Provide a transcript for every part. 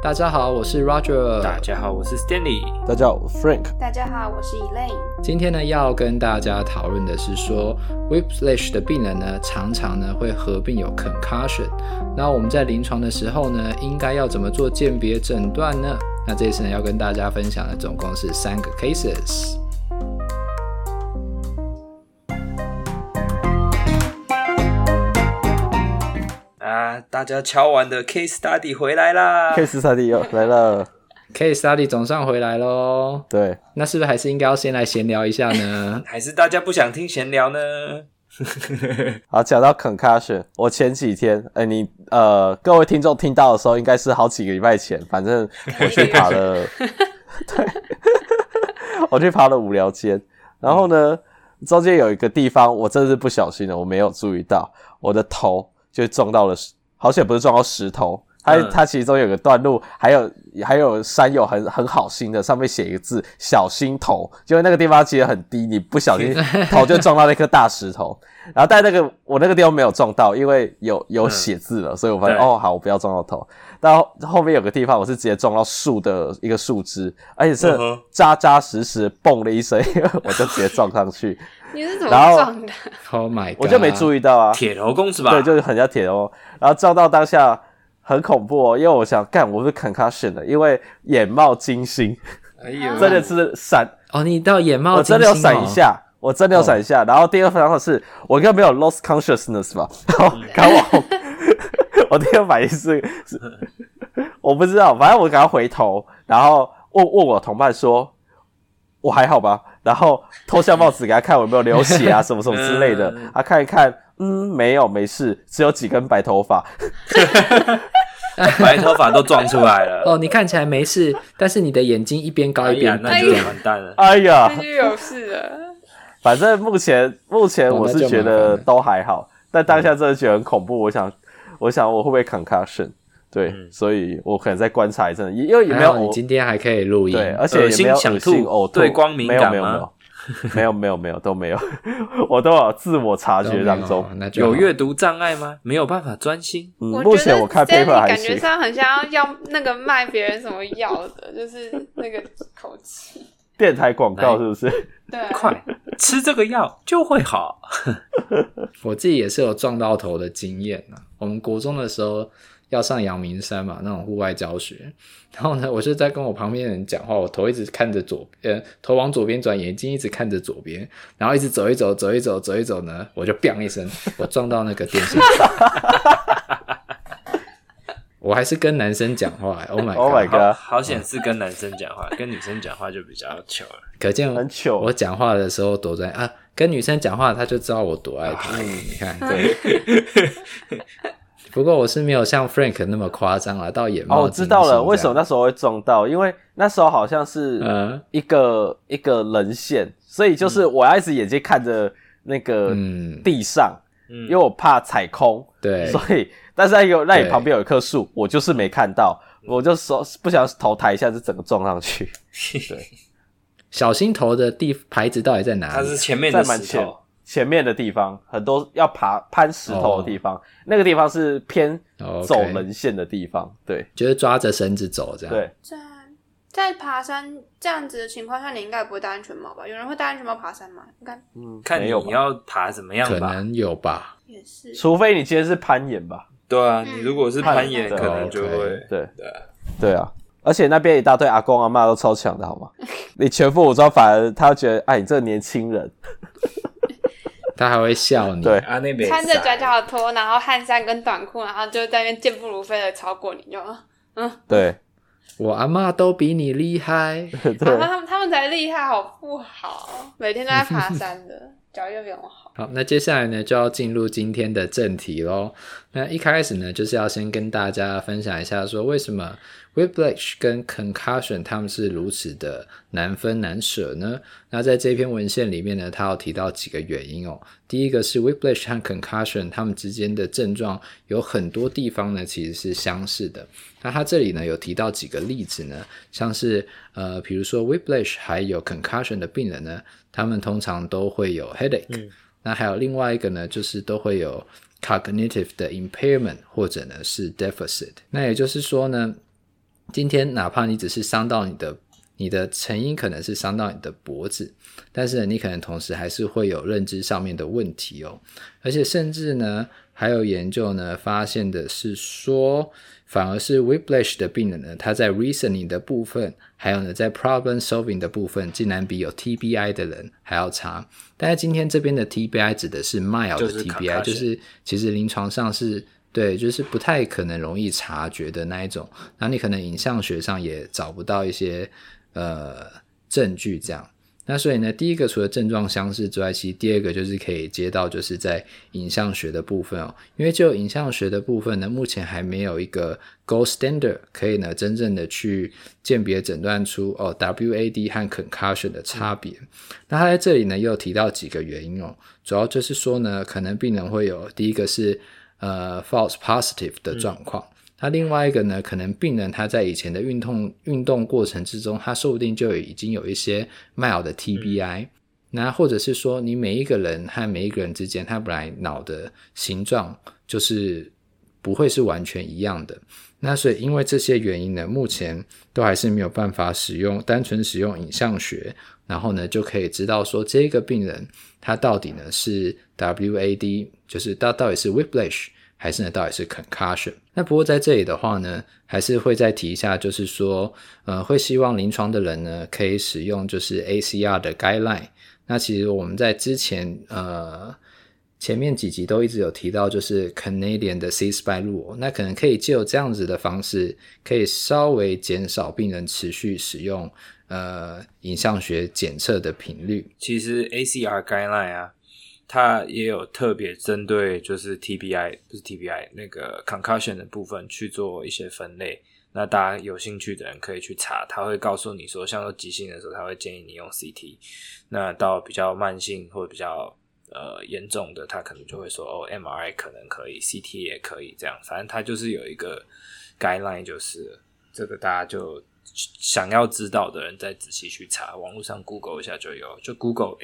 大家好，我是 Roger。 大家好，我是 Stanley。 大家好，我是 Frank。 大家好，我是 Elaine。 今天呢，要跟大家讨论的是说 Whiplash 的病人呢，常常呢会合并有 concussion。那我们在临床的时候呢，应该要怎么做鉴别诊断呢？那这次呢，要跟大家分享的总共是3个 cases。 大家敲完的 case study 回来啦 case study 又来了 case study 总算回来咯。 对， 那是不是还是应该要先来闲聊一下呢？ 还是大家不想听闲聊呢？ 好，讲到 concussion， 我前几天各位听众听到的时候应该是好几个礼拜前，反正我去爬了对，我去爬了无聊间，然后呢中间有一个地方我真的是不小心的，我没有注意到我的头就撞到了，好险不是撞到石头，它其中有个段路，还有山友很好心的，上面写一个字小心头，因为那个地方其实很低，你不小心头就撞到那颗大石头，然后但我那个地方没有撞到，因为有写字了，所以我发现好，我不要撞到头。但后面有个地方我是直接撞到树的一个树枝，而且是扎扎实实蹦了一声，我就直接撞上去。 你是怎么撞的 ？Oh my god！ 我就没注意到啊， 铁头功是吧？ 对，就是很像铁头，然后撞到当下很恐怖哦，因为我想我是 concussion 的，因为眼冒金星， 哎呦， 真的是闪哦，你到眼冒金星， 我真的有闪一下，我真的有闪一下，然后第二个反应是我应该没有 lost consciousness 吧，然后赶我我第二个反应是我不知道，反正我赶快回头，然后问我同伴说我还好吧，然后脱下帽子给他看我有没有流血啊什么什么之类的，他看一看，没事，只有几根白头发白头发都撞出来了哦，你看起来没事，但是你的眼睛一边高一边低， 那就完蛋了。 哎呀， 那就有事了。 反正目前我是觉得都还好，但当下真的觉得很恐怖。我想我会不会 concussion？ 对，所以我可能再观察一阵，因为也没有你今天还可以录音， 对，而且也没有恶心呕吐， 对光敏感吗？ 没有都没有，我都有自我察觉当中。 有阅读障碍吗？没有办法专心。 目前我看 paper 还行。 感觉上很像要那个卖别人什么药的，就是那个口气。 电台广告是不是？ 对， 快吃这个药就会好。 我自己也是有撞到头的经验啊。我们国中的时候要上阳明山嘛，那种户外教学，然后呢，我就在跟我旁边的人讲话，我头一直看着头往左边转，眼睛一直看着左边，然后一直走一走呢，我就 biang 一声，我撞到那个电线杆。我还是跟男生讲话，Oh my god， 好险是跟男生讲话，跟女生讲话就比较糗了。 可见很糗， 我讲话的时候躲在跟女生讲话，他就知道我多爱她。你看， 对。 不过我是没有像 Frank 那么夸张啦，到眼冒金星。 我知道了，为什么那时候会撞到？因为那时候好像是一个人线，所以就是我要一直眼睛看着那个地上，因为我怕踩空。 对， 所以但是那里旁边有一棵树，我就是没看到，我就说不想头抬一下，就整个撞上去。对， 小心头的牌子到底在哪里？ 它是前面的石头。 前面的地方很多要攀石头的地方，那个地方是偏走人线的地方，对， 就是抓着绳子走这样。 对， 在爬山这样子的情况下，你应该不会戴安全帽吧？有人会戴安全帽爬山吗？应该， 看你要爬怎么样吧， 可能有吧， 也是， 除非你今天是攀岩吧。 对啊，你如果是攀岩，可能就会， 对啊。而且那边一大堆阿公阿嬷都超强的好吗？你全副武装，反而他会觉得，你这个年轻人。 他还会笑你， 对， 穿着夹脚拖，然后汗衫跟短裤，然后就在那边健步如飞的超过你，就对， 我阿嬷都比你厉害， 他们才厉害，好不好？每天都在爬山的，脚又比我好。 好，那接下来呢，就要进入今天的正题咯。那一开始呢，就是要先跟大家分享一下说为什么 Whiplash 跟 Concussion 他们是如此的难分难舍呢？那在这篇文献里面呢，他有提到几个原因哦。第一个是 Whiplash 和 Concussion 他们之间的症状有很多地方呢其实是相似的。那他这里呢有提到几个例子呢，像是比如说 Whiplash 还有 Concussion 的病人呢，他们通常都会有 headache，那还有另外一个呢，就是都会有 cognitive 的 impairment 或者呢是 deficit。那也就是说呢， 今天哪怕你只是伤到你的成因可能是伤到你的脖子，但是呢你可能同时还是会有认知上面的问题哦。而且甚至呢还有研究呢发现的是说，反而是 Whiplash 的病人呢，他在 reasoning 的部分还有呢在 problem solving 的部分竟然比有 TBI 的人还要差。但是今天这边的 TBI 指的是 mild 的 TBI， 就是其实临床上是对，就是不太可能容易察觉的那一种，然后你可能影像学上也找不到一些证据这样。那所以呢，第一个除了症状相似之外，其实第二个就是可以接到就是在影像学的部分哦。因为就影像学的部分呢，目前还没有一个 gold standard 可以呢真正的去鉴别诊断出WAD 和 concussion 的差别。那他在这里呢又提到几个原因哦，主要就是说呢，可能病人会有第一个是false positive 的状况。那另外一个呢，可能病人他在以前的运动过程之中，他说不定就已经有一些 mild 的 TBI，那或者是说你每一个人和每一个人之间，他本来脑的形状就是不会是完全一样的。那所以因为这些原因呢，目前都还是没有办法单纯使用影像学，然后呢就可以知道说这个病人他到底呢是 WAD， 就是到底是 Whiplash还是呢到底是 concussion。 那不过在这里的话呢，还是会再提一下，就是说会希望临床的人呢可以使用就是 ACR 的 guideline。 那其实我们在之前前面几集都一直有提到就是 Canadian 的 C-SPY rule， 那可能可以藉由这样子的方式可以稍微减少病人持续使用影像学检测的频率。 其实 ACR guideline 啊，它也有特别针对就是 TBI 不是 TBI 那个 concussion 的部分去做一些分类。那大家有兴趣的人可以去查，他会告诉你说像说急性的时候他会建议你用 CT， 那到比较慢性或者比较严重的他可能就会说MRI 可能可以 CT 也可以这样，反正他就是有一个 guideline， 就是这个大家就想要知道的人再仔细去查，网络上 Google 一下就有，就 Google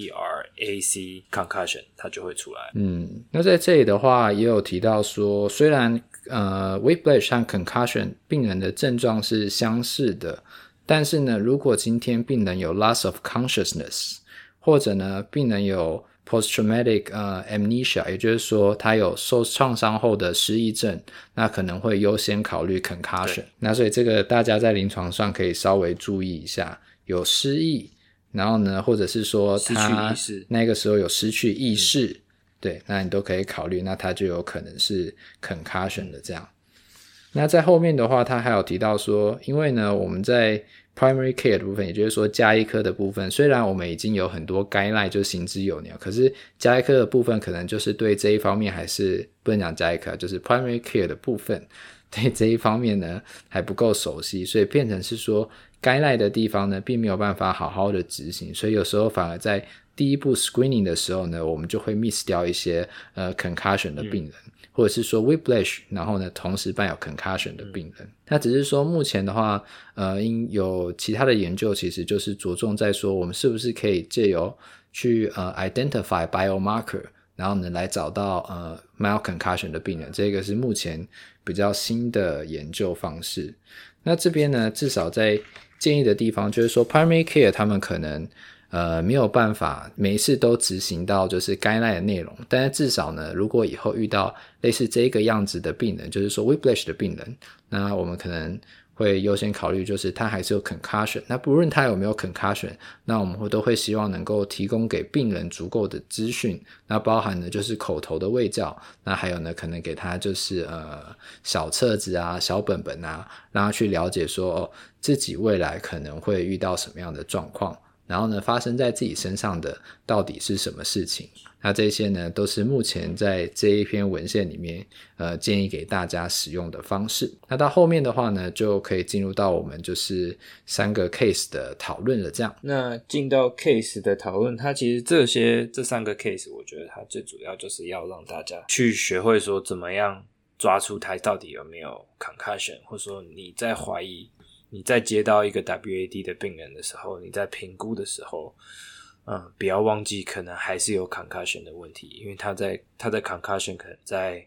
ACR/AC concussion 它就会出来。 那在这里的话也有提到说，虽然Whiplash 和 concussion 病人的症状是相似的，但是呢如果今天病人有 loss of consciousness， 或者呢病人有post-traumatic amnesia， 也就是说他有受创伤后的失忆症，那可能会优先考虑 concussion。 那所以这个大家在临床上可以稍微注意一下，有失忆，然后呢或者是说他那个时候有失去意识，对，那你都可以考虑，那他就有可能是 concussion 的这样。那在后面的话他还有提到说，因为呢我们在primary care 的部分，也就是说家医科的部分，虽然我们已经有很多 guideline 就行之有年，可是家医科的部分可能就是对这一方面还是不能讲家医科，就是 primary care 的部分对这一方面呢还不够熟悉，所以变成是说 guideline 的地方呢并没有办法好好的执行，所以有时候反而在第一步 screening 的时候呢，我们就会 miss 掉一些concussion 的病人，或者是说 Whiplash 然后呢同时伴有 concussion 的病人。那只是说目前的话因有其他的研究其实就是着重在说我们是不是可以借由去identify biomarker， 然后呢来找到mild concussion 的病人，这个是目前比较新的研究方式。那这边呢至少在建议的地方就是说 primary care 他们可能没有办法每一次都执行到就是 guideline 的内容，但是至少呢如果以后遇到类似这个样子的病人，就是说 Whiplash 的病人，那我们可能会优先考虑就是他还是有 concussion， 那不论他有没有 concussion， 那我们都会希望能够提供给病人足够的资讯，那包含呢就是口头的卫教，那还有呢可能给他就是小册子啊小本本啊，让他去了解说自己未来可能会遇到什么样的状况，然后呢发生在自己身上的到底是什么事情。那这些呢都是目前在这一篇文献里面建议给大家使用的方式。那到后面的话呢就可以进入到我们就是3个 case 的讨论了这样。 那进到 case 的讨论，它其实这3个 case 我觉得它最主要就是要让大家去学会说怎么样抓出它到底有没有 concussion， 或者说你在怀疑你在接到一个 WAD 的病人的时候，你在评估的时候不要忘记可能还是有 concussion 的问题，因为他在 concussion 可能在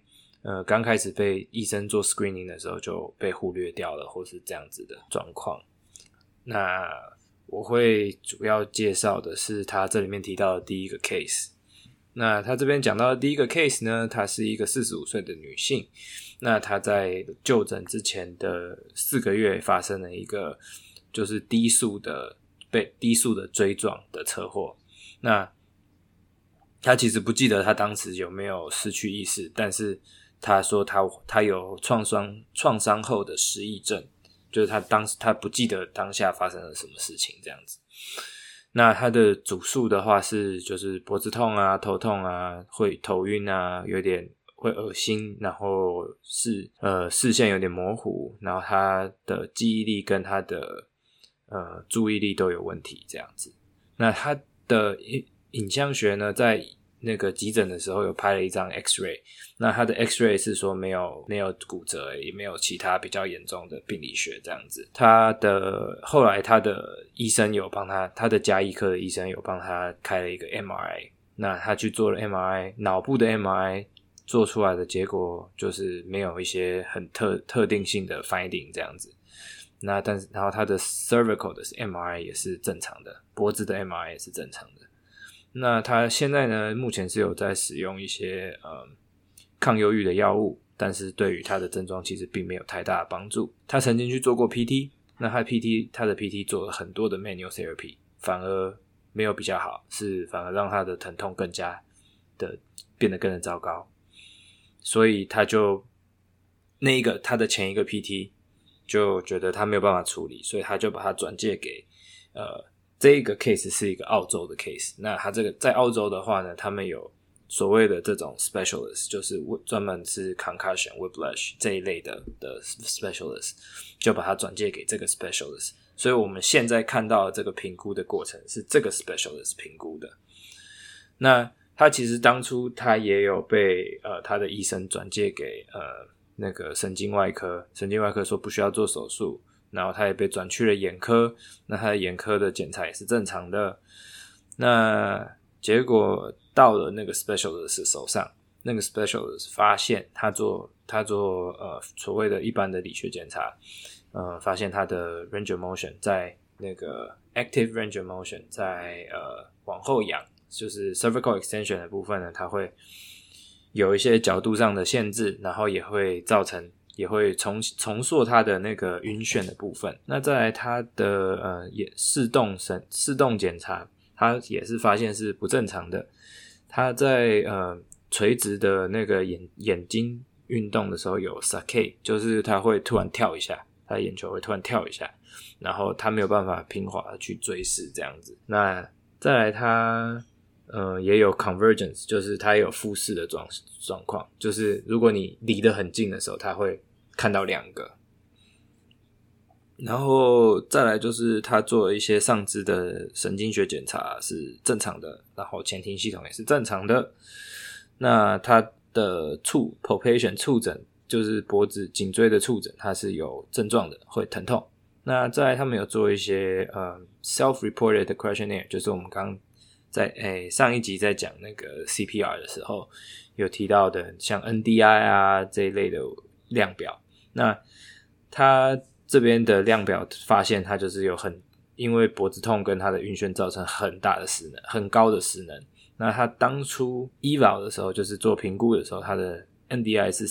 刚开始被医生做 screening 的时候就被忽略掉了，或是这样子的状况。那我会主要介绍的是他这里面提到的第一个 case。那他这边讲到的第一个 case 呢，她是一个45岁的女性。那她在就诊之前的4个月发生了一个就是被低速的追撞的车祸。那她其实不记得她当时有没有失去意识，但是她说她有创伤后的失忆症，就是她不记得当下发生了什么事情这样子。那他的主诉的话是就是脖子痛啊、头痛啊、会头晕啊、有点会恶心，然后视线有点模糊，然后他的记忆力跟他的注意力都有问题这样子。那他的影像学呢，在那个急诊的时候有拍了一张 X-ray， 那他的 X-ray 是说没有骨折，也没有其他比较严重的病理学这样子。后来他的医生有帮他的家医科的医生有帮他开了一个 MRI， 那他去做了 MRI， 脑部的 MRI 做出来的结果就是没有一些很特定性的 finding 这样子。那然后他的 cervical 的 MRI 也是正常的，脖子的 MRI 也是正常的。那他现在呢，目前是有在使用一些抗忧郁的药物，但是对于他的症状其实并没有太大的帮助。他曾经去做过 PT， 那他的 PT 做了很多的 manual therapy， 反而没有比较好，反而让他的疼痛更加的变得更糟糕。所以他的前一个 PT 就觉得他没有办法处理，所以他就把他转介给这一个 case 是一个澳洲的 case。 那他这个在澳洲的话呢，他们有所谓的这种 specialist， 就是专门是 concussion whiplash 这一类的 specialist， 就把他转介给这个 specialist。 所以我们现在看到的这个评估的过程是这个 specialist 评估的。那他其实当初他也有被他的医生转介给那个神经外科说不需要做手术，然后他也被转去了眼科，那他的眼科的检查也是正常的。那结果到了那个 specialist 手上，那个 specialist 发现他做所谓的一般的理学检查，发现他的 range of motion 在那个 active range of motion 在往后仰，就是 cervical extension 的部分呢，它会有一些角度上的限制，然后也会重塑它的那个晕眩的部分。那再来它的视动检查，它也是发现是不正常的。它在垂直的那个眼睛运动的时候有 saccade， 就是它会突然跳一下，它的眼球会突然跳一下，然后它没有办法平滑的去追视这样子。那再来它也有 convergence， 就是它也有复视的状况，就是如果你离得很近的时候，它会看到两个。然后再来就是他做了一些上肢的神经学检查是正常的，然后前庭系统也是正常的。那他的palpation 触诊，就是脖子颈椎的触诊，它是有症状的，会疼痛。那再来他们有做一些self-reported questionnaire， 就是我们刚刚在上一集在讲那个 CPR 的时候有提到的，像 NDI 啊这一类的量表。那他这边的量表发现他就是因为脖子痛跟他的晕眩造成很大的失能，很高的失能。那他当初 eval 的时候，就是做评估的时候，他的 NDI 是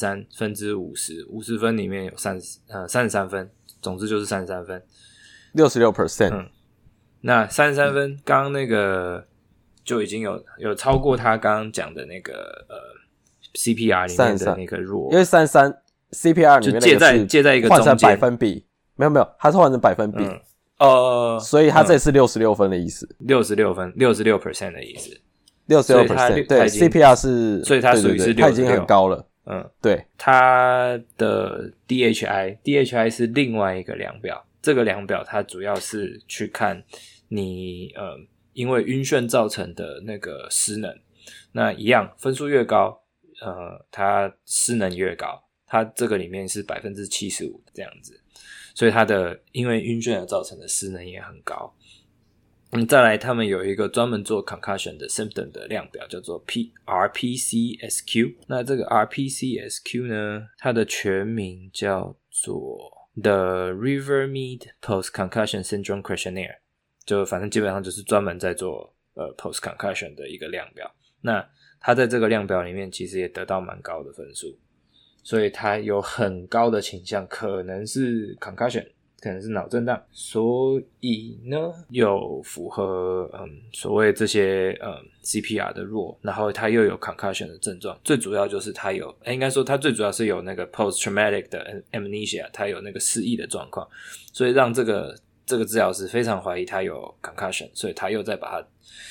50/50，50分里面有33分，总之就是33分 66%。 那33分刚刚那个就已经有超过他刚刚讲的那个CPR 里面的那个弱， 因为33 CPR 里面那个是介在一个换成中间百分比，没有，它是换成百分比，所以它这是66分的意思 ，66分，66% 的意思 ，66%，对 ，CPR 是， 所以它属于是66%， 它已经很高了，对， 它的 DHI 是另外一个量表，这个量表它主要是去看你因为晕眩造成的那个失能，那一样分数越高，它失能越高。它这个里面是 75% 这样子，所以它的因为晕眩而造成的失能也很高。 再来他们有一个专门做 concussion 的 symptom 的量表叫做 RPCSQ。 那这个 RPCSQ 呢，它的全名叫做 The Rivermead Post Concussion Syndrome Questionnaire， 就反正基本上就是专门在做post concussion 的一个量表。那它在这个量表里面其实也得到蛮高的分数，所以它有很高的倾向可能是 concussion， 可能是脑震荡，所以呢有符合所谓这些CPR 的弱，然后它又有 concussion 的症状，最主要就是它有应该说它最主要是有那个 post traumatic 的 amnesia， 它有那个失忆的状况，所以让这个治疗师非常怀疑他有 concussion， 所以他又再把它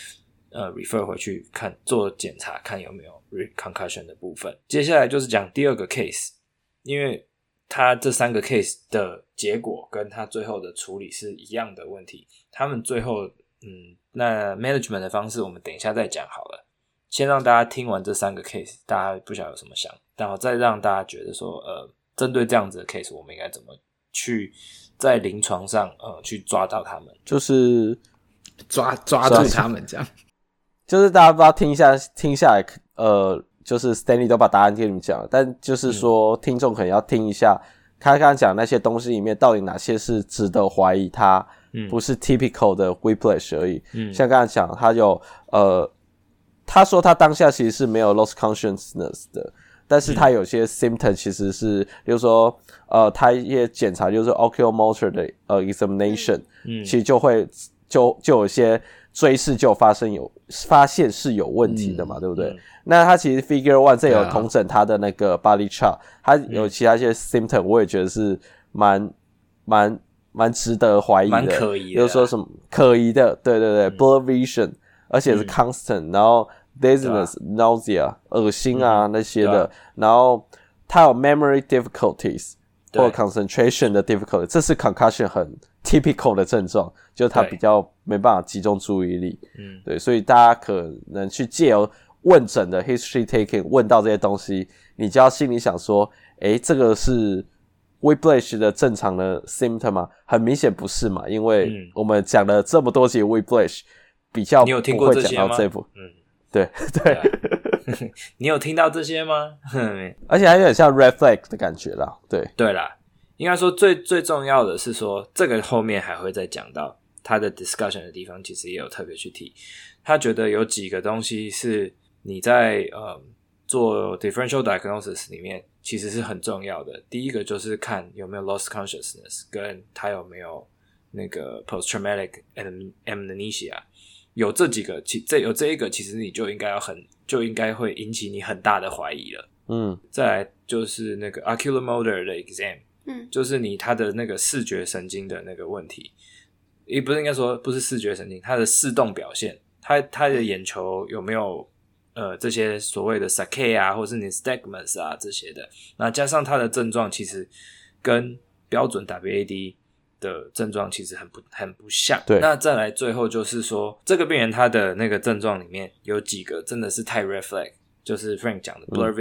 refer 回去看做检查，看有没有 concussion 的部分。接下来就是讲第二个 case， 因为他这3个 case 的结果跟他最后的处理是一样的问题，他们最后那 management 的方式我们等一下再讲好了，先让大家听完这3个 case， 大家不晓得有什么想，然后再让大家觉得说针对这样子的 case 我们应该怎么去在临床上去抓到他们， 就是抓住他们这样。 就是大家不知道听下来就是 Stanley 都把答案跟你们讲了，但就是说听众可能要听一下他刚刚讲那些东西里面到底哪些是值得怀疑他不是 typical 的 whiplash 而已。像刚才讲他有他说他当下其实是没有 lost consciousness 的，但是他有些 symptom 其实是比如说他也检查就是 oculomotor 的examination，其实就有些追视就发现是有问题的嘛，对不对？那他其实 Figure 1这有统整他的那个 body chart， 他有其他一些 symptom， 我也觉得是蛮值得怀疑的， 蛮可疑的， 就是说什么可疑的，对对对，blur vision， 而且是 constant，然后 dizziness， nausea， 恶心啊那些的，然后他有 memory difficulties 或 concentration 的 difficulty， 这是 concussion 很 typical 的症状，就他比较没办法集中注意力。对，所以大家可能去借由问诊的 history taking 问到这些东西，你就要心里想说，这个是 whiplash 的正常的 symptom 吗？很明显不是嘛，因为我们讲了这么多集 whiplash， 比较不会讲到这部。对对。 你有听到这些吗？ 而且还有点像 red flag 的感觉啦。 对啦，应该说最重要的是说，这个后面还会再讲到他的 discussion 的地方，其实也有特别去提。他觉得有几个东西是你在做 differential diagnosis 里面其实是很重要的。第一个就是看有没有 lost consciousness， 跟他有没有那个 post traumatic amnesia。有这几个，有这一个，其实你就应该会引起你很大的怀疑了。再来就是那个 oculomotor 的 exam，就是他的那个视觉神经的那个问题，也不是应该说不是视觉神经，他的视动表现，他的眼球有没有这些所谓的 saccade 啊，或是 nystagmus 啊这些的，那加上他的症状其实跟标准 WAD的症状其实很不像。 对， 那再来最后就是说，这个病人他的那个症状里面有几个真的是太 red flag， 就是 Frank 讲的 blur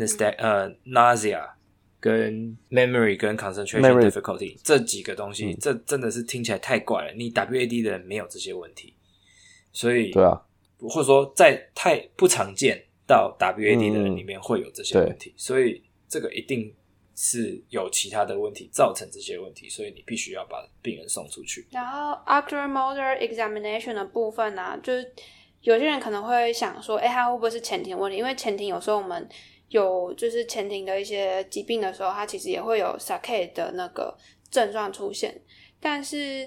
vision、nausea 跟 memory 跟 concentration difficulty 这几个东西，这真的是听起来太怪了。你 WAD 的人没有这些问题，所以对啊， 或者说在太不常见到 WAD 的人里面会有这些问题，所以这个一定是有其他的问题造成这些问题，所以你必须要把病人送出去。 然后 oculomotor examination 的部分啊，就是有些人可能会想说他会不会是前庭问题，因为前庭有时候我们有就是前庭的一些疾病的时候，它其实也会有 saccade 的那个症状出现。但是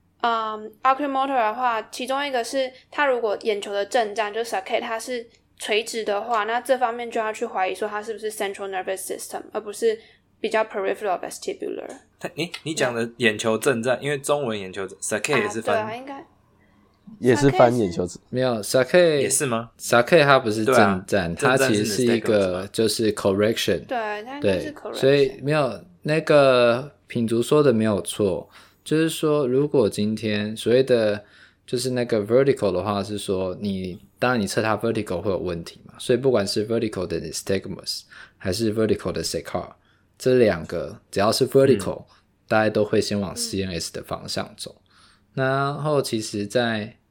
oculomotor 的话，其中一个是它如果眼球的震颤就是 saccade 它是垂直的话，那这方面就要去怀疑说它是不是 central nervous system 而不是比较 peripheral vestibular。 你讲的眼球震颤，因为中文眼球 saccade 也是翻， 对啊，应该也是翻眼球没有 saccade 也是吗？ saccade 它不是震颤，它其实是一个就是 correction。 对，它应该是 correction。 所以没有那个品竹说的没有错，就是说如果今天所谓的就是那个 vertical 的话，是说当然你测它 vertical 会有问题嘛，所以不管是 vertical 的 nystagmus 还是 vertical 的 saccade， 这两个只要是 vertical，大家都会先往 CNS 的方向走。然后其实在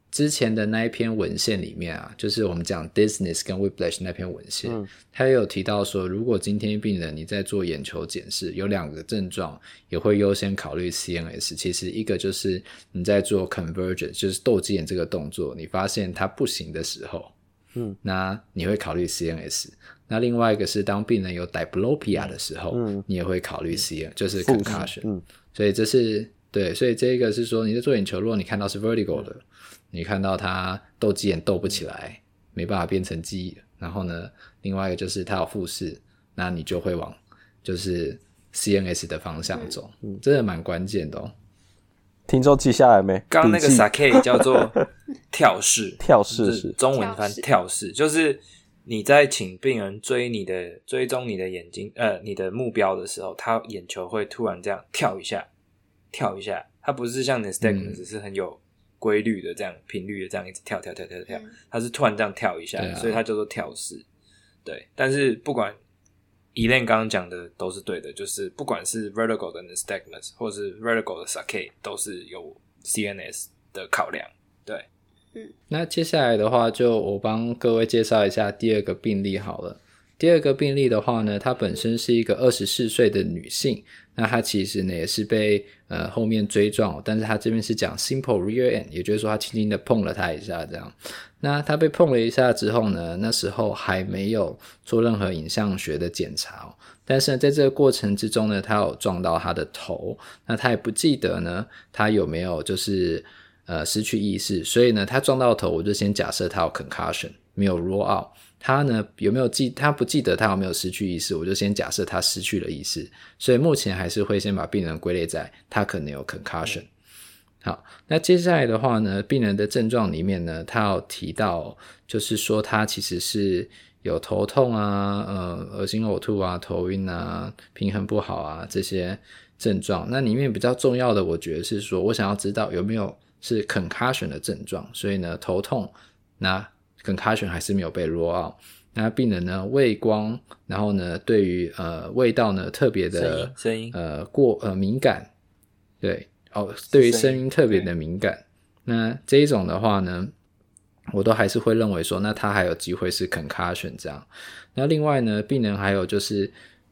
之前的那一篇文献里面啊，就是我们讲 Dizziness 跟 Whiplash 那篇文献，他也有提到说，如果今天病人你在做眼球检视，有2个症状也会优先考虑 CNS。其实一个就是你在做 convergence， 就是斗鸡眼这个动作，你发现它不行的时候，那你会考虑 CNS。那另外一个是当病人有 diplopia 的时候，你也会考虑 CNS， 就是 concussion。所以这是对，所以这个是说你在做眼球，如果你看到是 vertical 的，你看到它斗鸡眼斗不起来，没办法变成鸡，然后呢，另外一个就是它有复视，那你就会往就是 CNS 的方向走，真的蛮关键的哦。 听众记下来没？ 刚刚那个 Sake 叫做跳视， 跳视是中文翻跳视，就是你在请病人追踪你的眼睛，你的目标的时候，他眼球会突然这样跳一下，它不是像 nystagmus 是很有规律的这样频率的这样一直跳，它是突然这样跳一下，所以它叫做跳视。对，但是不管 Elaine 刚刚讲的都是对的，就是不管是 vertical 的 nystagmus 或是 vertical 的 Sake 都是有 CNS 的考量。对， 那接下来的话，就我帮各位介绍一下第2个病例好了。第2个病例的话呢，她本身是一个24岁的女性，那她其实呢也是被后面追撞，但是她这边是讲 simple rear end， 也就是说她轻轻的碰了她一下这样。那她被碰了一下之后呢，那时候还没有做任何影像学的检查但是呢在这个过程之中呢，她有撞到她的头，那她也不记得呢她有没有就是失去意识，所以呢她撞到头，我就先假设她有 concussion， 没有 roll out。他呢有没有他不记得他有没有失去意识，我就先假设他失去了意识，所以目前还是会先把病人归类在他可能有 concussion。好，那接下来的话呢，病人的症状里面呢，他有提到就是说他其实是有头痛啊、恶心呕吐啊、头晕啊、平衡不好啊这些症状。那里面比较重要的我觉得是说，我想要知道有没有是 concussion 的症状，所以呢头痛，那concussion 还是没有被 roll out。 那病人呢畏光，然后呢对于味道呢特别的声音敏感，对对于声音特别的敏感。那这一种的话呢，我都还是会认为说，那他还有机会是 concussion 这样。那另外呢，病人还有就是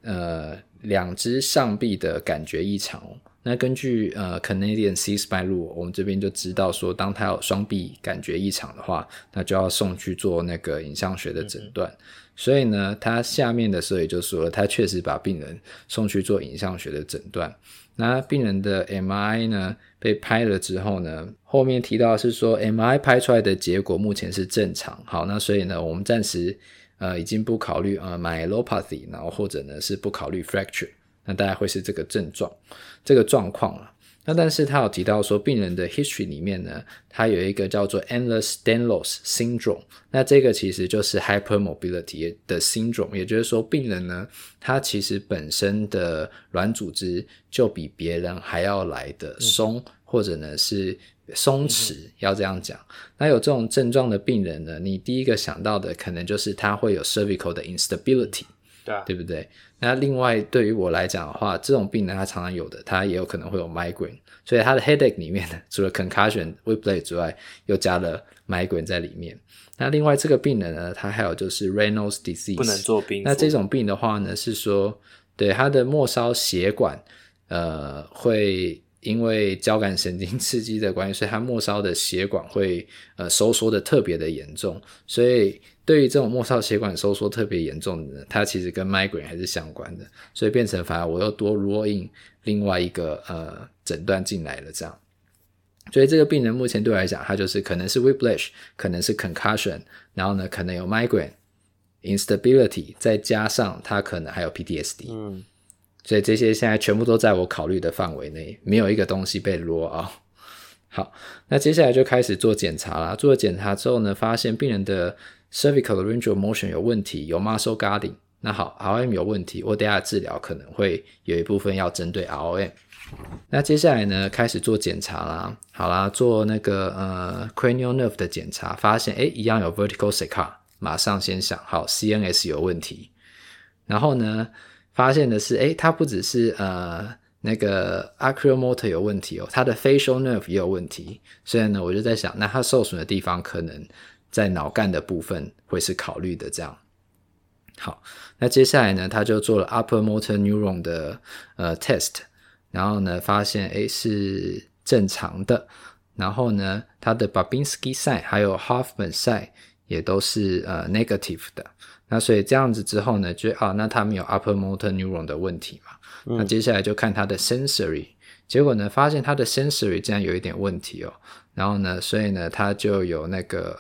2只上臂的感觉异常那根据Canadian C-Spine Rule， 我们这边就知道说，当他有双臂感觉异常的话，那就要送去做那个影像学的诊断。所以呢，他下面的时候也就说了，他确实把病人送去做影像学的诊断。那病人的 MRI 呢被拍了之后呢，后面提到的是说 MRI 拍出来的结果目前是正常。好，那所以呢，我们暂时已经不考虑myelopathy， 然后或者呢是不考虑 fracture。那大概会是这个症状这个状况了。那但是他有提到说，病人的 history 里面呢，他有一个叫做 Ehlers-Danlos syndrome， 那这个其实就是 hypermobility 的 syndrome， 也就是说病人呢，他其实本身的软组织就比别人还要来的松，或者呢是松弛，要这样讲。那有这种症状的病人呢，你第一个想到的可能就是他会有 cervical 的 instability，对不对？那另外对于我来讲的话，这种病人他常常有的，他也有可能会有 migraine， 所以他的 headache 里面呢，除了 concussion、whiplash 之外，又加了 migraine 在里面。那另外这个病人呢，他还有就是 Raynaud's disease， 不能做冰敷。 那这种病的话呢，是说对他的末梢血管会因为交感神经刺激的关系，所以他末梢的血管会收缩的特别的严重。所以对于这种末梢血管收缩特别严重的，它其实跟 migraine 还是相关的，所以变成反而我又多 roll in 另外一个诊断进来了这样。所以这个病人目前对我来讲，他就是可能是 whiplash， 可能是 concussion， 然后呢可能有 migraine instability， 再加上他可能还有 PTSD。所以这些现在全部都在我考虑的范围内，没有一个东西被 roll out。好，那接下来就开始做检查啦。做了检查之后呢，发现病人的 cervical range of motion 有问题，有 muscle guarding。那好 ，ROM 有问题，我等一下治疗可能会有一部分要针对 ROM。那接下来呢，开始做检查啦。好啦，做那个cranial nerve 的检查，发现一样有 vertical saccade， 马上先想好 CNS 有问题。然后呢，发现的是它不只是那个 oculomotor 有问题他的 facial nerve 也有问题，所以呢我就在想，那他受损的地方可能在脑干的部分会是考虑的这样。好，那接下来呢他就做了 upper motor neuron 的test， 然后呢发现是正常的，然后呢他的 Babinski sign 还有 Hoffman sign 也都是negative 的，那所以这样子之后呢就那他们有 upper motor neuron 的问题嘛，那接下来就看他的 sensory， 结果呢发现他的 sensory 竟然有一点问题然后呢所以呢他就有那个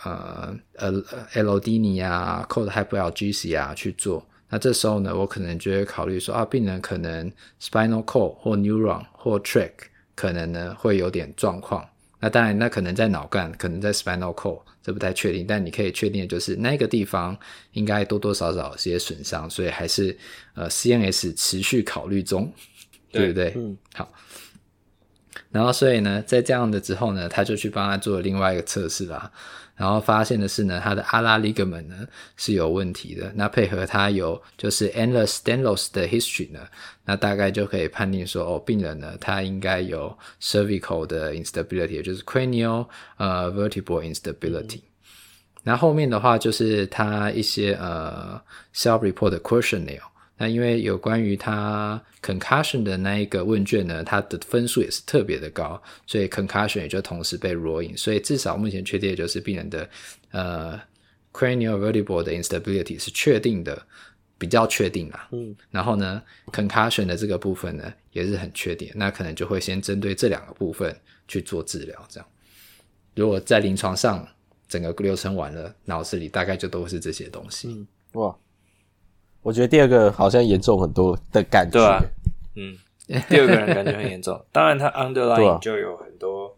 allodynia cold hyperalgesia 去做，那这时候呢我可能就会考虑说病人可能 spinal cord 或 neuron 或 tract 可能呢会有点状况，那当然那可能在脑干可能在 spinal cord 这不太确定，但你可以确定的就是那个地方应该多多少少有些损伤，所以还是CNS 持续考虑中，对不对？好，然后所以呢在这样的之后呢他就去帮他做了另外一个测试啦，然后发现的是呢他的阿拉 ligament 呢是有问题的，那配合他有就是 Ehlers-Danlos 的 history 呢，那大概就可以判定说病人呢他应该有 cervical 的 instability， 也就是 cranial vertebral instability，那后面的话就是他一些self-report 的 questionnaire，那因为有关于他 concussion 的那一个问卷呢，他的分数也是特别的高，所以 concussion 也就同时被 roll in， 所以至少目前确定的就是病人的cranial vertebral 的 instability 是确定的，比较确定啦。然后呢 concussion 的这个部分呢也是很确定，那可能就会先针对这两个部分去做治疗这样。如果在临床上整个流程完了，脑子里大概就都是这些东西。 哇，我觉得第二个好像严重很多的感觉。 对啊，第二个人感觉很严重。当然他 underlying 就有很多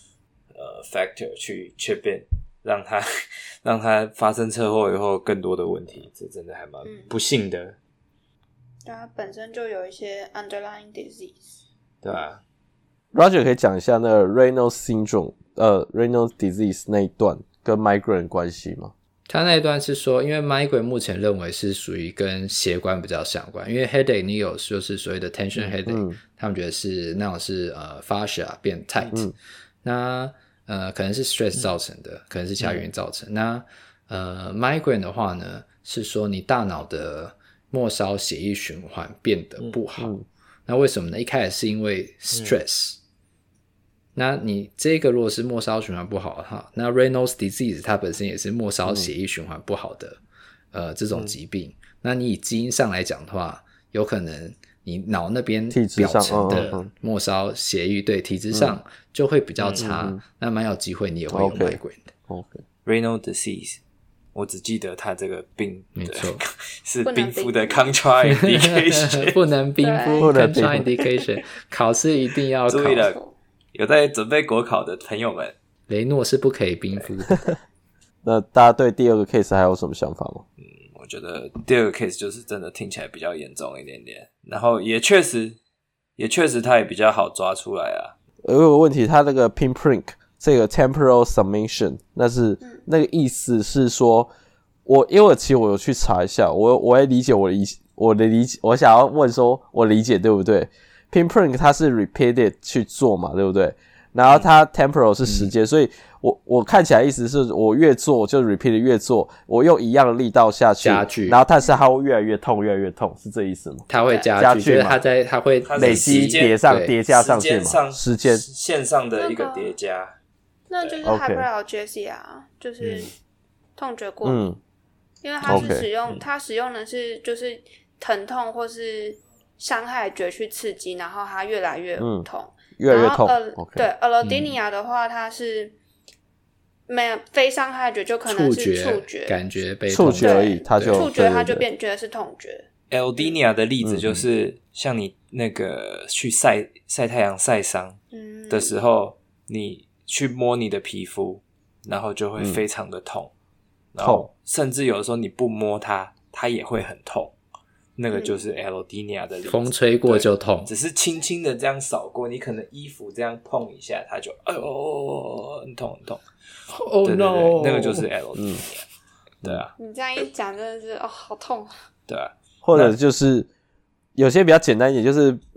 factor 去chip in， 让他发生车祸以后更多的问题，这真的还蛮不幸的。 对，他本身就有一些 underlying disease。 对啊 Roger 可以讲一下那个 Raynaud's syndrome Raynaud's disease 那一段跟 migraine 的关系吗？ 他那一段是说，因为 migraine 目前认为是属于跟血管比较相关，因为 headache 你有就是所谓的 tension headache，他们觉得是那种是fascia 变 tight，那可能是 stress 造成的，可能是其他原因造成。那migraine 的话呢，是说你大脑的末梢血液循环变得不好，那为什么呢？一开始是因为 stress，那你这个如果是末梢循环不好的话，那 Raynaud's disease 它本身也是末梢血液循环不好的这种疾病，那你以基因上来讲的话，有可能你脑那边表层的末梢血液对体质上就会比较差，那蛮有机会你也会有 migraine 的。 Raynaud's disease 我只记得他这个病没错是冰敷的 contraindication 不能冰敷 contraindication 考试一定要考， 注意了，有在准备国考的朋友们， 雷诺是不可以冰敷的。 那大家对第二个 case 还有什么想法吗？ 我觉得第二个 case 就是真的听起来比较严重一点点，然后也确实它也比较好抓出来啊。 有个问题，它那个 pinprick 这个 temporal summation， 那个意思是说，因为其实我有去查一下，我也理解我的理解，我想要问说我理解对不对？pinprick 它是 repeated 去做嘛，对不对？然后它 temporal 是时间，所以我看起来意思是我越做就 repeated 越做，我用一样的力道下去， 加剧， 然后但是它会越来越痛，越来越痛，是这意思吗？ 它会加剧，就是它会累积叠加上去嘛，时间线上的一个叠加， 那就是 hyperalgesia， 就是痛觉过敏，因为它是它使用的是就是疼痛或是伤害觉去刺激，然后它越来越痛， 越来越痛。 对 allodynia 的话，它是没有非伤害觉，就可能是触觉感觉被触觉而已，它就触觉它就变觉得是痛觉。 allodynia 的例子就是像你那个去晒太阳晒伤的时候，你去摸你的皮肤，然后就会非常的痛，然后甚至有的时候你不摸它也会很痛。那个就是 allodynia 的例子， 风吹过就痛， 只是轻轻的这样扫过，你可能衣服这样碰一下，它就很痛很痛。 Oh no， 那个就是 allodynia。对啊， 你这样一讲真的是好痛。 对啊， 或者就是有些比较简单一点，就是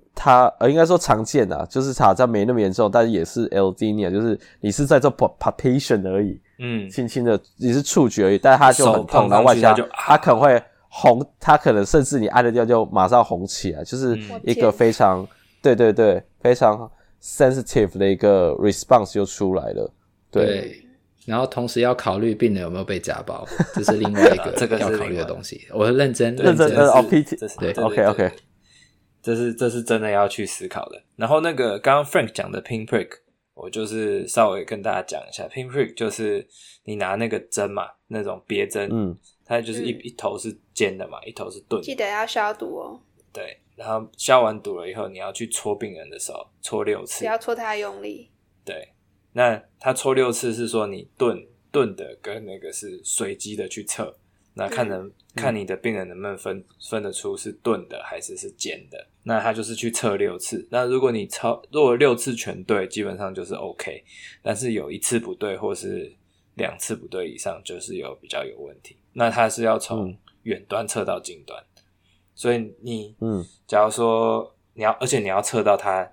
它应该说常见啊，就是查在没那么严重，但是也是 allodynia， 就是你是在做 palpation 而已，轻轻的你是触觉而已，但是它就很痛，然后外加它可能会红，它可能甚至你按了掉就马上红起来，就是一个非常对对对非常 sensitive 的一个 response 就出来了，对。 然后同时要考虑病人有没有被家暴，这是另外一个要考虑的东西。我认真 PT 对 OK 这是真的要去思考的。然后那个刚刚 Frank 讲的 pinprick， 我就是稍微跟大家讲一下 pinprick， 就是你拿那个针嘛，那种别针，它就是一头是尖的嘛，一头是钝的， 记得要消毒哦。 对，然后消完毒了以后，你要去戳病人的手，戳6次， 不要戳太用力。 对，那他戳6次是说你钝的跟那个是随机的去测，那看你的病人能不能分得出是钝的还是尖的，那他就是去测6次，那如果6次全对，基本上就是 OK， 但是有1次不对或是2次不对以上，就是比较有问题，那他是要从远端测到近端，所以你假如说而且你要测到他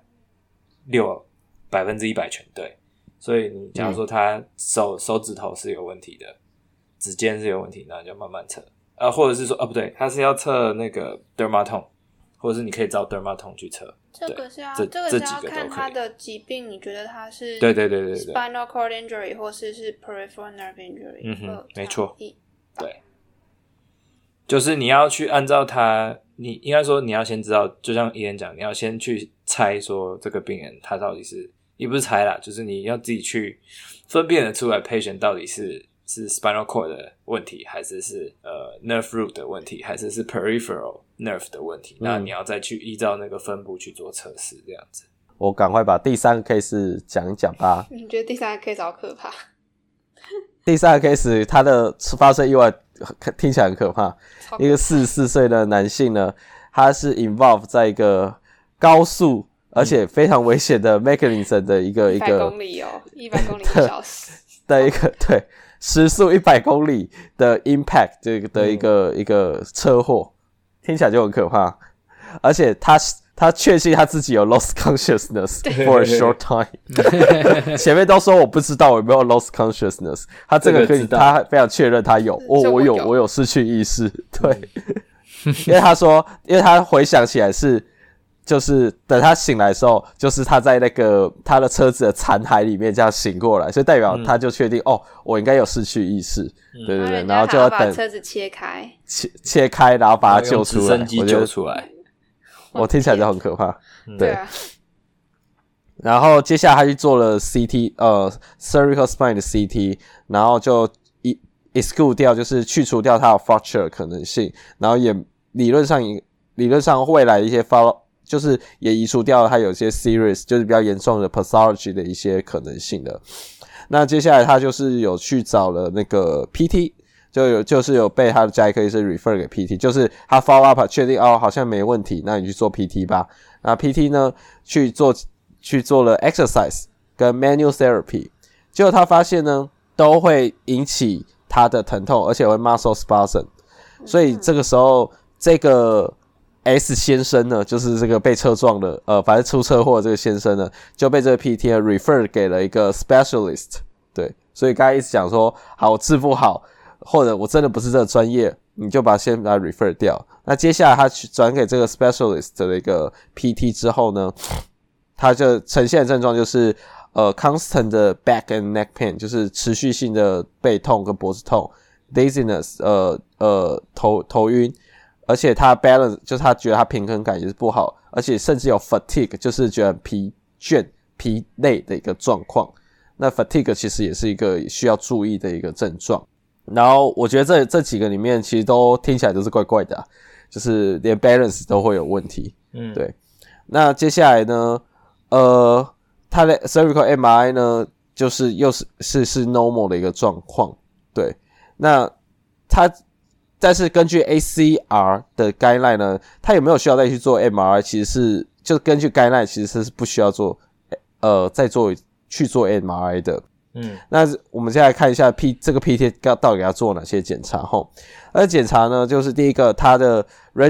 100%全对，所以你假如说他手指头是有问题的，指尖是有问题，那你就慢慢测，或者是说不对，他是要测那个 dermatome， 或者是你可以找 dermatome 去测。 这个是要看他的疾病，你觉得他是对 spinal cord injury 或是 peripheral nerve injury， 没错，对，就是你要去按照他，你应该说你要先知道，就像伊恩讲，你要先去猜说这个病人他到底是。也不是猜啦，就是你要自己去分辨得出来 patient 到底是 spinal cord 的问题，还是nerve root 的问题，还是peripheral nerve 的问题，那你要再去依照那个分布去做测试这样子。 我赶快把第3个 case 讲一讲吧。 你觉得第3个 case 好可怕？ 第3个 case 它的发生意外听起来很可怕，一个44岁的男性呢，他是 involve 在一个高速而且非常危险的 mechanism 的一个 100公里100公里1小时的一个对时速100公里的 impact 这个的一个车祸，听起来就很可怕。而且他确信他自己有 lost consciousness for a short time 前面都说我不知道我有没有 lost consciousness， 他这个可以他非常确认他有，我有失去意识，对因为他说因为他回想起来就是等他醒来的时候，就是他在那个他的车子的残骸里面这样醒过来，所以代表他就确定我应该有失去意识，对对对，然后就要等把车子切开， 然后把他救出来， 直升机救出来， 我听起来就很可怕，对啊。 然后接下来他去做了 CT cervical spine 的 CT， 然后就exclude 掉，就是去除掉他的 fracture 的可能性，然后也理论上未来的一些 follow。就是也移除掉了它有些 serious 就是比较严重的 pathology 的一些可能性的。那接下来他就是有去找了那个 PT， 就是有被他的家医科医生 refer 给 PT， 就是他 follow up 确定好像没问题，那你去做 PT 吧。那 PT 呢去做了 exercise 跟 manual therapy， 结果他发现呢都会引起他的疼痛，而且会 muscle spasm， 所以这个时候这个S 先生呢，就是这个被车撞的，反正出车祸的这个先生呢，就被这个 PT 呢 refer 给了一个 specialist， 对，所以刚才一直讲说，好，我治不好，或者我真的不是这个专业，你就先把它 refer 掉。那接下来他去转给这个 specialist 的一个 PT 之后呢，他就呈现的症状就是constant 的 back and neck pain， 就是持续性的背痛跟脖子痛 ，dizziness， 头晕。而且他 balance 就是他觉得他平衡感也是不好，而且甚至有 fatigue， 就是觉得疲倦、疲累的一个状况。那 fatigue 其实也是一个需要注意的一个症状。然后我觉得这几个里面其实都听起来都是怪怪的就是连 balance 都会有问题。对。那接下来呢，他的 cervical MRI 呢，就是又是 normal 的一个状况。对。那但是根据 ACR 的 guideline 呢，他有没有需要再去做 MRI？ 其实是就根据 guideline 其实是不需要做去做 MRI 的。那我们现在看一下这个 PT 到底要做哪些检查齁。而检查呢，就是第一个他的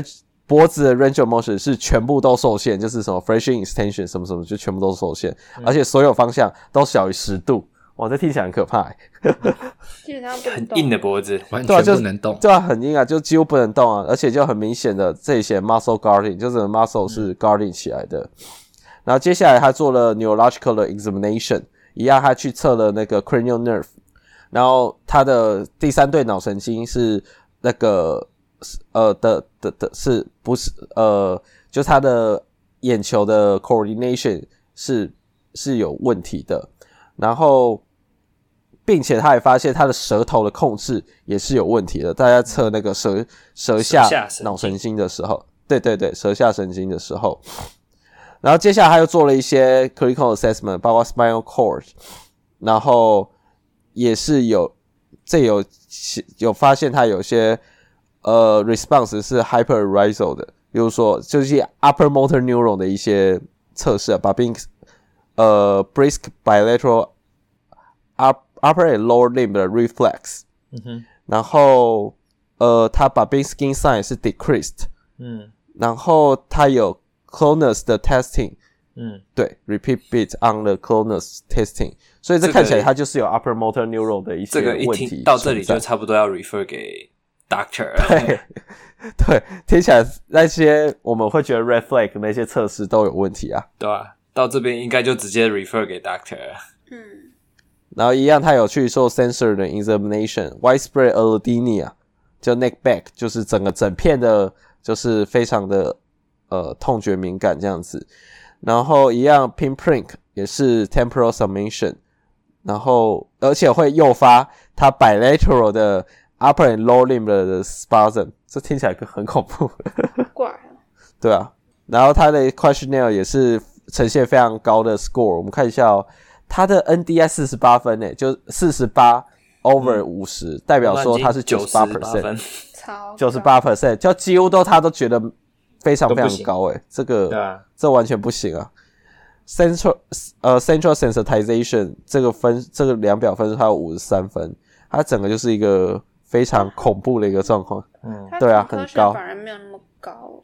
脖子的 range of motion 是全部都受限，就是什么 flexion extension 什么什么就全部都受限，而且所有方向都小于10度。哇，这听起来很可怕基本上不能很动， 硬的脖子， 完全不能动。 对啊，很硬啊，就几乎不能动啊，而且就很明显的这些 muscle guarding， 就是 muscle 是 guarding 起来的。然后接下来他做了 neurological 的 examination， 一样他去测了那个 cranial nerve， 然后他的第3对脑神经是那个是不是就他的眼球的 coordination 是有问题的，然后并且他也发现他的舌头的控制也是有问题的。大家测那个舌下脑神经的时候，对对对，舌下神经的时候，然后接下来他又做了一些 clinical assessment， 包括 spinal cord， 然后也是有发现他有些response 是 hyperarousal 的，比如说就是 upper motor neuron 的一些测试啊，把brisk bilateral upper and lower limb 的 reflex， 然后他把 big skin size 是 decreased， 然后他有 clonus 的 testing， 对 repeat beat on the clonus testing， 所以这看起来他就是有 upper motor neuron 的一些问题， 这个一听到这里就差不多要 refer 给 doctor 了。 对对，听起来那些我们会觉得 red flag 那些测试都有问题啊， 对啊，到这边应该就直接 refer 给 doctor 了。 然后一样他有去做 sensor 的 examination， widespread allodynia 就 neck back， 就是整片的就是非常的痛觉敏感这样子，然后一样 pinprick 也是 temporal summation， 然后而且会诱发他 bilateral 的 upper and lower limb 的 spasm， 这听起来很恐怖怪啊， 对啊，然后他的 questionnaire 也是呈现非常高的 score， 我们看一下哦，他的 NDI 48分诶，就48 over 50，代表说他是 98%， 超 98%， 就几乎他都觉得非常非常高诶，这完全不行啊。Central sensitization 这个量表分数它有53分，它整个就是一个非常恐怖的一个状况。对啊，很高。 反而没有那么高。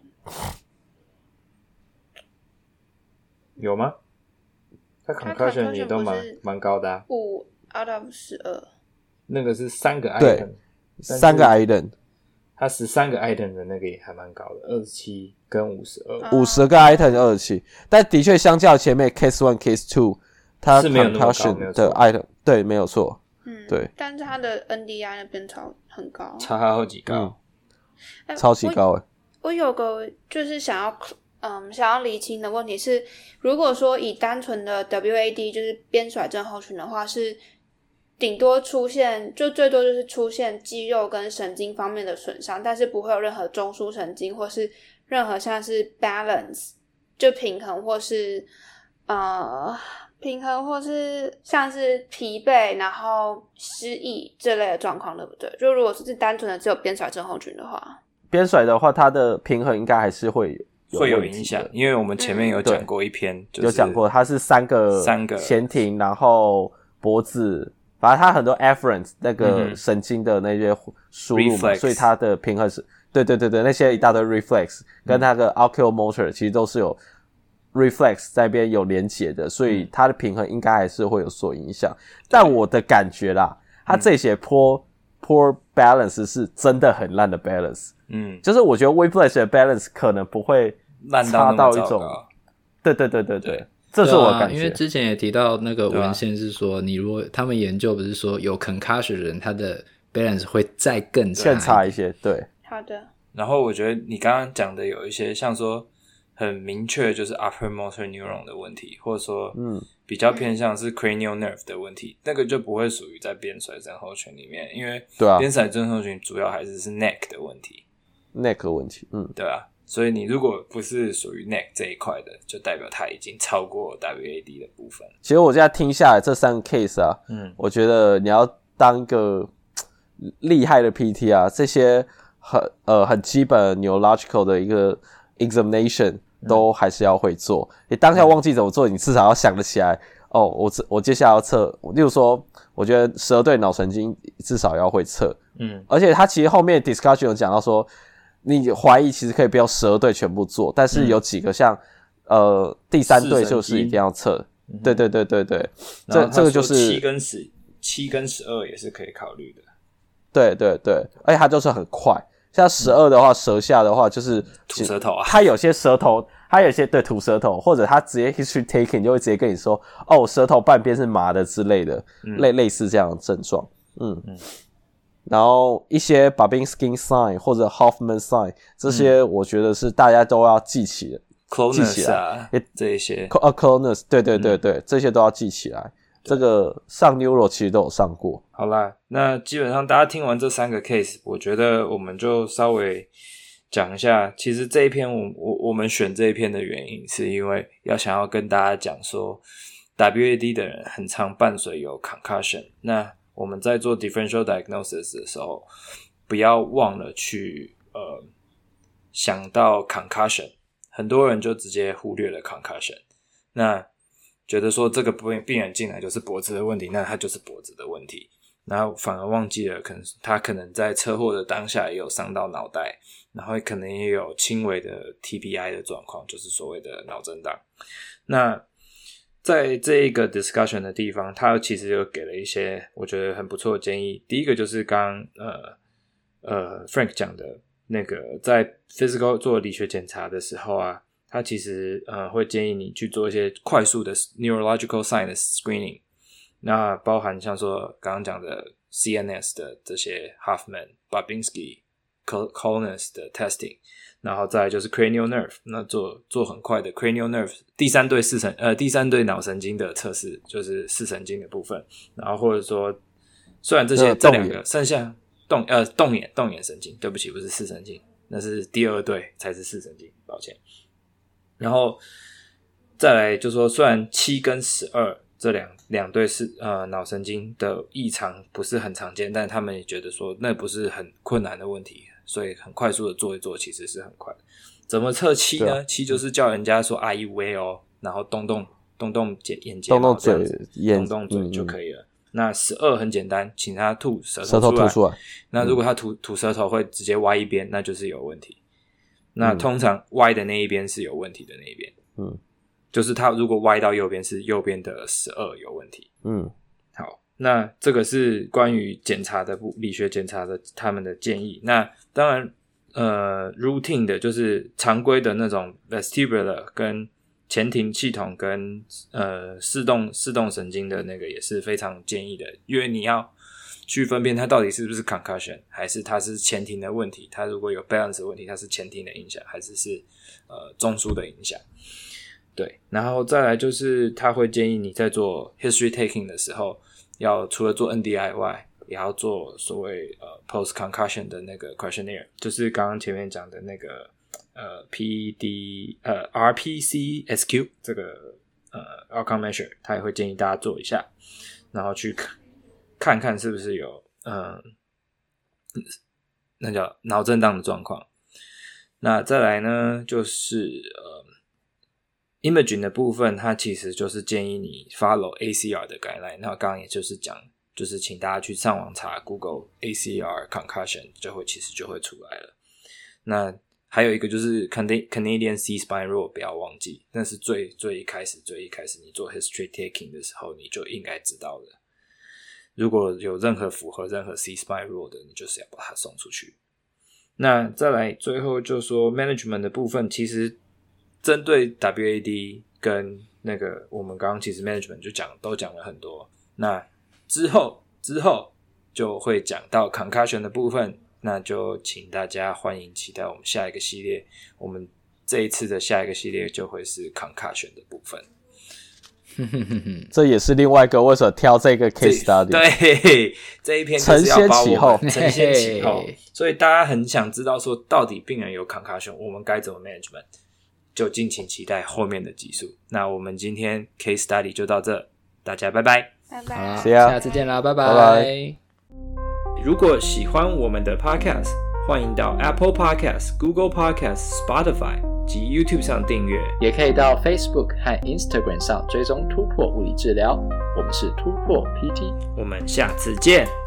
有吗？他 concussion 也都蛮高的啊。 5 out of 12。 那个是3个 item， 对，3个 item。 他13个 item 的那个也还蛮高的，27跟52。 50个 item 27，但的确相较前面 case 1 case 2，它 concussion 的 item 对没有错。对。 但是他的 NDI 那边很高， 差好几高， 超级高我有个就是想要厘清的问题是，如果说以单纯的 WAD 就是边甩症候群的话，是顶多出现就最多就是出现肌肉跟神经方面的损伤，但是不会有任何中枢神经或是任何像是 balance 就平衡或是像是疲惫然后失忆这类的状况，对不对？就如果是单纯的只有边甩症候群的话， 边甩的话它的平衡应该还是会有影响，因为我们前面有讲过一篇，就是有讲过它是三个前庭，然后脖子，反正它很多 afferent 那个神经的那些输入嘛，所以它的平衡是对那些一大堆 reflex 跟那个 oculomotor 其实都是有 reflex 在那边有连结的，所以它的平衡应该还是会有所影响。但我的感觉啦，它这些 poor balance 是真的很烂的 balance， 就是我觉得 Whiplash 的 balance 可能不会差到一种，对，这是我的感觉。 因为之前也提到那个文献是说，你如果他们研究不是说有 concussion 的人，他的 balance 会再更差一些，对。 好的。 然后我觉得你刚刚讲的有一些像说很明确就是 upper motor neuron 的问题，或者说比较偏向是 cranial nerve 的问题，那个就不会属于在边甩症候群里面，因为边甩症候群主要还是 neck 的问题 neck 的问题， 对啊，所以你如果不是属于 neck 这一块的，就代表它已经超过 WAD 的部分。 其实我现在听下来这3个 case 啊，我觉得你要当一个厉害的 PT 啊，这些很基本 neurological 的一个 examination 都还是要会做。你当下忘记怎么做，你至少要想得起来。哦，我接下来要测，例如说，我觉得12对脑神经至少要会测。而且他其实后面 discussion 有讲到说， 你怀疑其实可以不用12对全部做，但是有几个像第3对就是一定要测。对，这个就是 7跟12也是可以考虑的。 对，而且它就是很快。像12的话，舌下的话就是吐舌头啊， 它有些舌头，它有些对吐舌头，或者它直接 history taking 就会直接跟你说，哦，舌头半边是麻的之类的，类似这样的症状。然后一些 Babinski sign 或者 Hoffman sign 这些，我觉得是大家都要记起来。 Clonus 啊，这一些 Clonus 对，这些都要记起来。这个上 Neuro 其实都有上过。 好啦，那基本上大家听完这3个 case， 我觉得我们就稍微讲一下，其实这一篇我们选这一篇的原因是因为想要跟大家讲说 WAD 的人很常伴随有 concussion， 那我们在做 differential diagnosis 的时候不要忘了去想到 concussion， 很多人就直接忽略了 concussion， 那觉得说这个病人进来就是脖子的问题，那他就是脖子的问题，然后反而忘记了他可能在车祸的当下也有伤到脑袋，然后可能也有轻微的 TBI 的状况，就是所谓的脑震荡。那在这一个 discussion 的地方，他其实有给了一些我觉得很不错的建议。第一个就是刚Frank 讲的那个在 physical 做理学检查的时候啊，他其实会建议你去做一些快速的 neurological sign 的 screening， 那包含像说刚刚讲的 CNS 的这些 Hoffman、Babinski、Clonus 的 testing， 然后再来就是 cranial nerve， 那做很快的 cranial nerve 第三对脑神经的测试，就是视神经的部分，然后或者说虽然这两个剩下动眼神经，对不起，不是视神经，那是第2对才是视神经，抱歉。然后再来就说，虽然7跟12这两对是脑神经的异常不是很常见，但他们也觉得说那不是很困难的问题，所以很快速的做一做其实是很快的。怎么测7呢？7就是叫人家说 Are you well， 然后动眼睫毛，动动嘴就可以了。那12很简单，请他吐舌头出来。那如果他吐舌头会直接歪一边，那就是有问题。那通常歪的那一边是有问题的那一边，就是他如果歪到右边是右边的12有问题。好，那这个是关于检查的理学检查的他们的建议。那当然routine 的就是常规的那种 vestibular 跟前庭系统跟视动神经的那个也是非常建议的，因为你要去分辨它到底是不是 concussion， 还是它是前庭的问题，它如果有 balance 的问题，它是前庭的影响，还是中枢的影响。对，然后再来就是他会建议你在做 history taking 的时候，要除了做 NDI 外，也要做所谓post concussion 的那个 questionnaire， 就是刚刚前面讲的那个RPCSQ 这个outcome measure， 他也会建议大家做一下，然后去看看是不是有那叫脑震荡的状况。那再来呢就是imaging 的部分，它其实就是建议你 follow ACR 的 guideline， 那刚刚也就是讲就是请大家去上网查 Google ACR concussion 其实就会出来了。那还有一个就是 Canadian C-spine rule 不要忘记，那是最一开始你做 history taking 的时候你就应该知道的。如果有符合任何 C-spine rule 的，你就是要把它送出去。那再来最后就说 management 的部分，其实针对 WAD 跟那个我们刚刚其实 management 都讲了很多，那之后就会讲到 concussion 的部分，那就请大家欢迎期待我们下一个系列，我们这一次的下一个系列就会是 concussion 的部分。 这也是另外一个为什么挑这个 case study， 对，这一篇就是要把我们承先启后，所以大家很想知道说到底病人有 concussion 我们该怎么 management， 就敬请期待后面的集数。那我们今天 case study 就到这，大家拜拜， 拜拜， 下次见啦，拜拜。 拜拜。 如果喜欢我们的 podcast， 欢迎到 Apple Podcast、Google Podcast、Spotify 及 YouTube 上订阅， 也可以到 Facebook 和 Instagram 上追踪突破物理治疗。我们是突破 PT， 我们下次见。